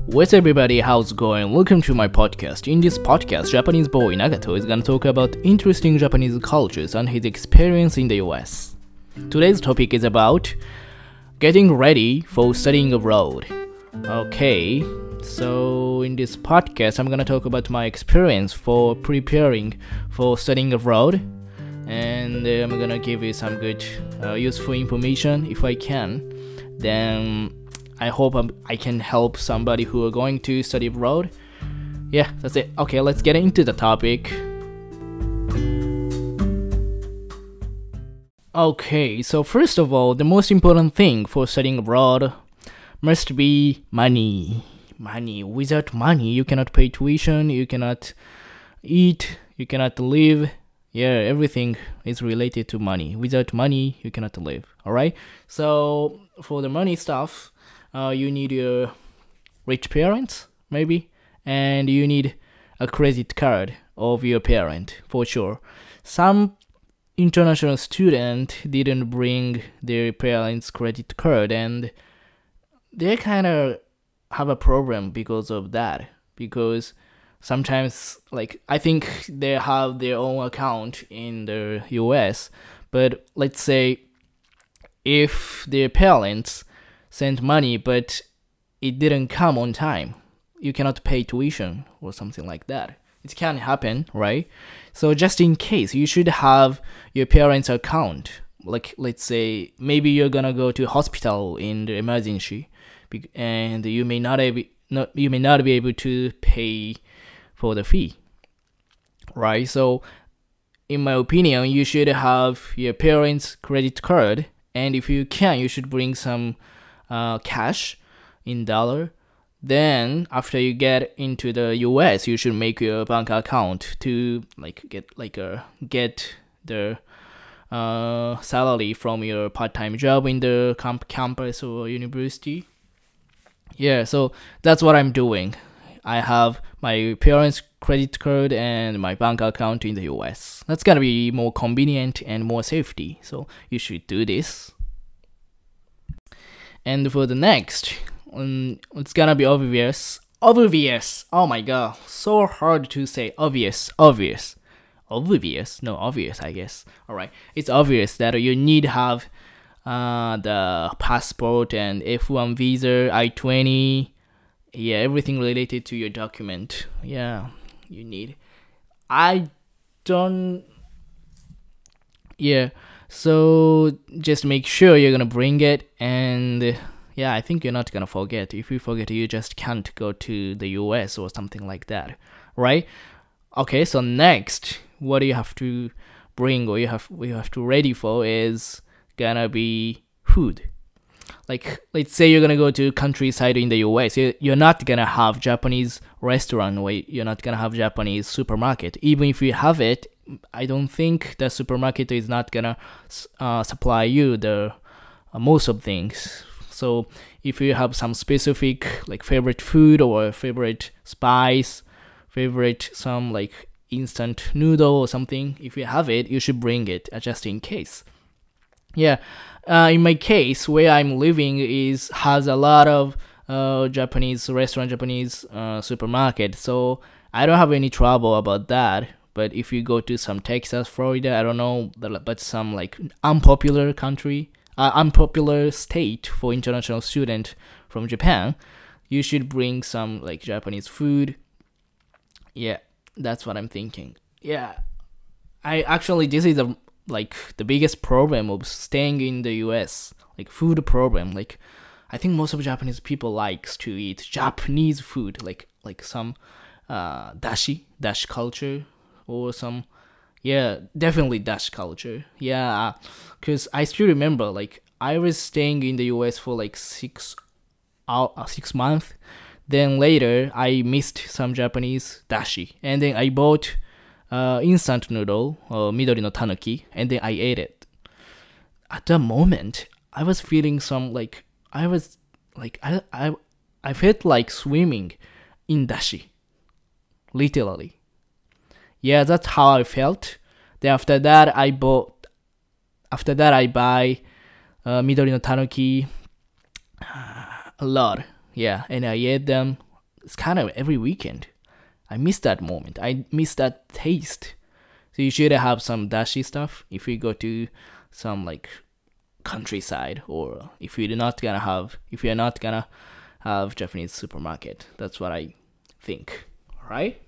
What's everybody, how's it going? Welcome to my podcast. In this podcast, Japanese boy Nagato is gonna talk about interesting Japanese cultures and his experience in the US. Today's topic is about getting ready for studying abroad. Okay, so in this podcast, I'm gonna talk about my experience for preparing for studying abroad, and I'm gonna give you some good, useful information if I can. Then I hope I can help somebody who are going to study abroad. Yeah, that's it. Okay, let's get into the topic. Okay, so first of all, the most important thing for studying abroad must be money. Money. Without money, you cannot pay tuition, you cannot eat, you cannot live. Yeah, everything is related to money. Without money, you cannot live. Alright? So, for the money stuff, you need your rich parents, maybe, and you need a credit card of your parent, for sure. Some international student didn't bring their parents' credit card, and they kind of have a problem because of that, because sometimes, like, I think they have their own account in the US, but let's say if their parents sent money but it didn't come on time, you cannot pay tuition or something like that. It can happen, right? So just in case, you should have your parents' account. Like, let's say maybe you're gonna go to hospital in the emergency, and you may not be able to pay for the fee, right? So in my opinion, you should have your parents' credit card, and if you can, you should bring some cash in dollar. Then after you get into the US, you should make your bank account to get the salary from your part-time job in the campus or university. Yeah, so that's what I'm doing. I have my parents' credit card and my bank account in the US. That's gonna be more convenient and more safety, so you should do this. And for the next, it's gonna be obvious. Obvious! Oh my god, so hard to say. Obvious, no, obvious, I guess. Alright, it's obvious that you need to have the passport and F1 visa, I-20, yeah, everything related to your document. Yeah, you need. Yeah, so just make sure you're gonna bring it, and yeah, I think you're not gonna forget. If you forget, you just can't go to the US or something like that, right? Okay, so next, what do you have to bring, or you have to ready for is gonna be food. Like, let's say you're gonna go to countryside in the US, you're not gonna have Japanese restaurant, or you're not gonna have Japanese supermarket. Even if you have it, I don't think the supermarket is not gonna supply you the most of things. So if you have some specific like favorite food or favorite spice, favorite some like instant noodle or something, if you have it, you should bring it just in case. Yeah, in my case, where I'm living has a lot of Japanese restaurant, Japanese supermarket, so I don't have any trouble about that. But if you go to some Texas, Florida, I don't know, but some like unpopular state for international student from Japan, you should bring some like Japanese food. Yeah, that's what I'm thinking. Yeah, this is the biggest problem of staying in the US, like food problem. Like, I think most of Japanese people likes to eat Japanese food, like some dashi culture, or some, yeah, definitely dash culture. Yeah, because I still remember, like, I was staying in the US for like 6 months. Then later, I missed some Japanese dashi, and then I bought instant noodle, Midori no Tanuki, and then I ate it. At the moment, I was feeling some like, I felt like swimming in dashi, literally. Yeah, that's how I felt. Then after that, I buy Midori no Tanuki a lot. Yeah, and I ate them it's kind of every weekend. I miss that moment. I miss that taste. So you should have some dashi stuff if you go to some like countryside, or if you're not gonna have Japanese supermarket. That's what I think, right?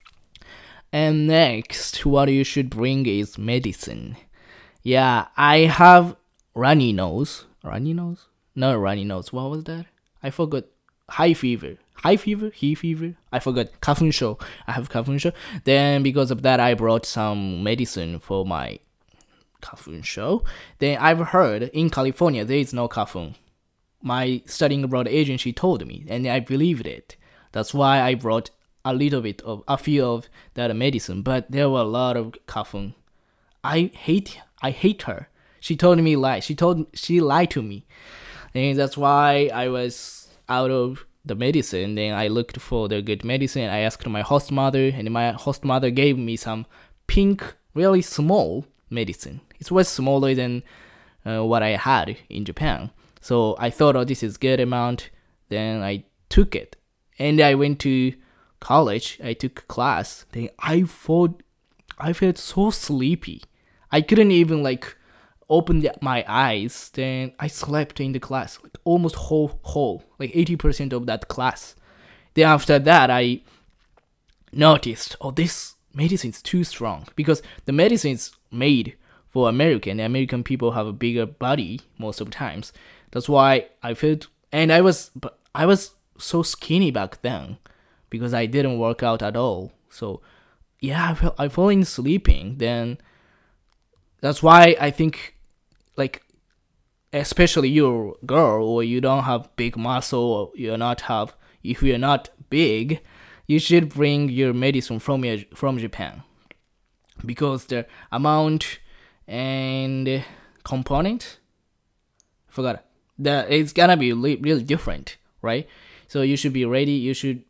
And next, what you should bring is medicine. Yeah, I have runny nose. Runny nose? Not runny nose. What was that? I forgot. High fever. High fever? Hay fever? I forgot. Kafunsho. I have kafunsho. Then because of that, I brought some medicine for my kafunsho. Then I've heard in California there is no kafun. My studying abroad agency told me, and I believed it. That's why I brought a few of that medicine. But there were a lot of kafun. I hate her. She told me lie. She lied to me, and that's why I was out of the medicine. Then I looked for the good medicine. I asked my host mother, and my host mother gave me some pink, really small medicine. It was smaller than what I had in Japan. So I thought, oh, this is good amount. Then I took it, and I went to college. I took class. Then I felt so sleepy. I couldn't even like open my eyes. Then I slept in the class, like almost whole, like 80% of that class. Then after that, I noticed, oh, this medicine is too strong, because the medicine is made for American. The American people have a bigger body most of the times. That's why I felt, and I was so skinny back then because I didn't work out at all. So yeah, I falling sleeping. Then that's why I think, like, especially you're a girl or you don't have big muscle, or if you're not big, you should bring your medicine from Japan, because the amount and component, I forgot, that it's gonna be really different, right? So you should be ready. You should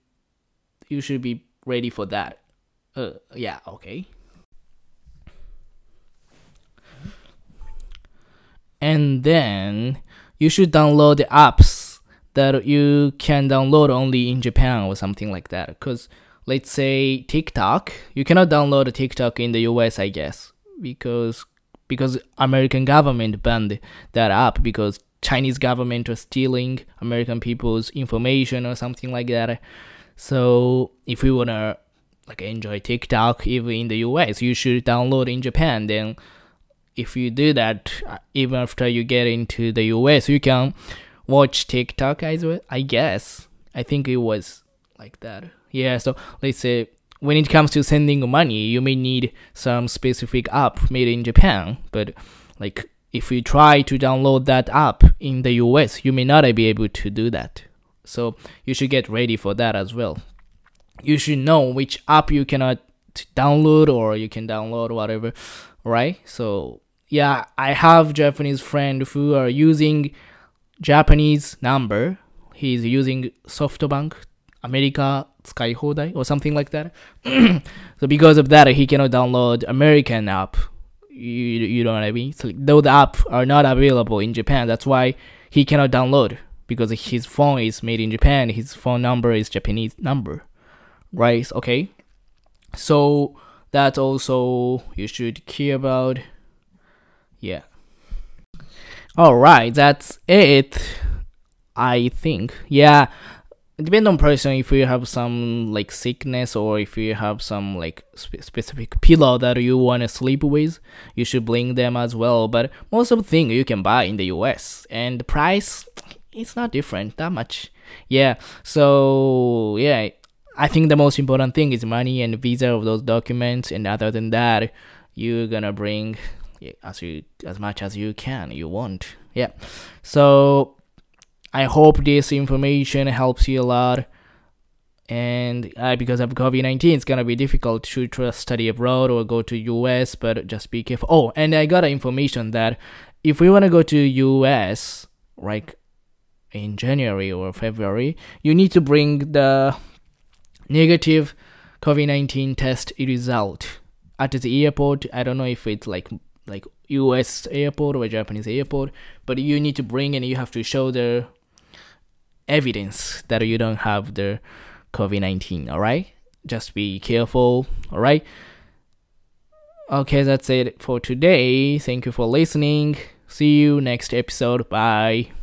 be ready for that. Yeah, okay. And then you should download the apps that you can download only in Japan or something like that. Because let's say TikTok, you cannot download TikTok in the US, I guess, because American government banned that app because Chinese government was stealing American people's information or something like that. So if you wanna like enjoy TikTok even in the US, you should download in Japan. Then if you do that, even after you get into the US, you can watch TikTok as well, I guess. I think it was like that. Yeah, so let's say when it comes to sending money, you may need some specific app made in Japan. But like if you try to download that app in the US, you may not be able to do that. So you should get ready for that as well. You should know which app you cannot download, or you can download whatever, right? So yeah, I have Japanese friend who are using Japanese number. He's using SoftBank America Sky Hodai or something like that. So because of that, he cannot download American app. You know what I mean? So though the app are not available in Japan, that's why he cannot download, because his phone is made in Japan. His phone number is Japanese number, right? Okay. So that also you should care about. Yeah. All right, that's it, I think. Yeah, it depends on person. If you have some like sickness, or if you have some like specific pillow that you want to sleep with, you should bring them as well. But most of the thing you can buy in the US, and the price, it's not different that much. Yeah, so yeah, I think the most important thing is money and visa of those documents, and other than that, you're gonna bring as much as you want. Yeah, so I hope this information helps you a lot. And because of COVID-19, it's gonna be difficult to study abroad or go to US, but just be careful. Oh, and I got information that if we want to go to US, like in January or February, you need to bring the negative COVID-19 test result at the airport. I don't know if it's like US airport or Japanese airport, but you need to bring, and you have to show the evidence that you don't have the COVID-19. All right, just be careful. All right. Okay, that's it for today. Thank you for listening. See you next episode. Bye.